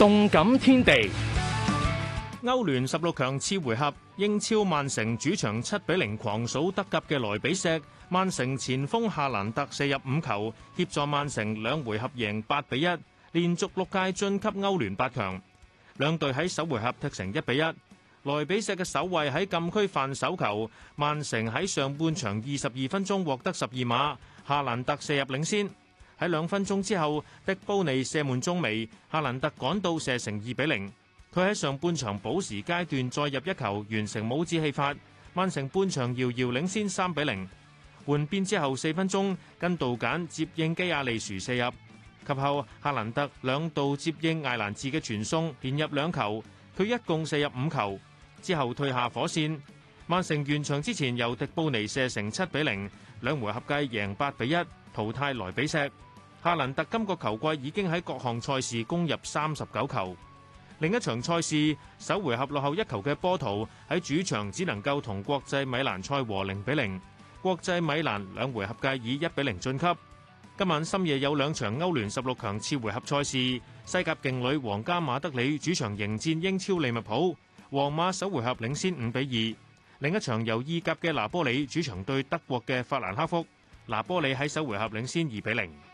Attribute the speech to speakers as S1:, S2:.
S1: 動感天地，
S2: 歐聯16強次回合，英超曼城主場7-0狂掃德甲嘅萊比錫。曼城前鋒夏蘭特射入5球，協助曼城2回合贏8-1，連續6屆晉級歐聯8強。兩隊喺首回合踢成1-1。萊比錫嘅守衛喺禁區犯手球，曼城喺上半場22分鐘獲得12碼，夏蘭特射入領先。喺2分鐘之後，迪布尼射門中楣，夏蘭特趕到射成2-0。佢喺上半場補時階段再入1球，完成帽子戲法。曼城半場遙遙領先3-0。換邊之後4分鐘，根道簡接應基亞利殊射入，及後夏蘭特2度接應艾蘭治嘅傳送，連入2球，佢一共射入5球。之後退下火線，曼城完場之前由迪布尼射成7-0，2回合計贏8-1，淘汰萊比錫。夏蘭特今個球季已經喺各項賽事攻入39球。另一場賽事，首回合落後1球嘅波圖喺主場只能夠同國際米蘭賽和0-0，國際米蘭2回合計以1-0晉級。今晚深夜有2場歐聯16強次回合賽事，西甲勁旅皇家馬德里主場迎戰英超利物浦，皇馬首回合領先5-2。另一場由意甲嘅拿波里主場對德國嘅法蘭克福，拿波里喺首回合領先2-0。